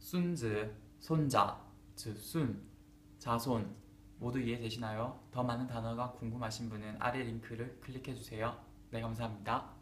순즈, 손자, 즉 순, 자손 모두 이해되시나요? 더 많은 단어가 궁금하신 분은 아래 링크를 클릭해주세요. 네, 감사합니다.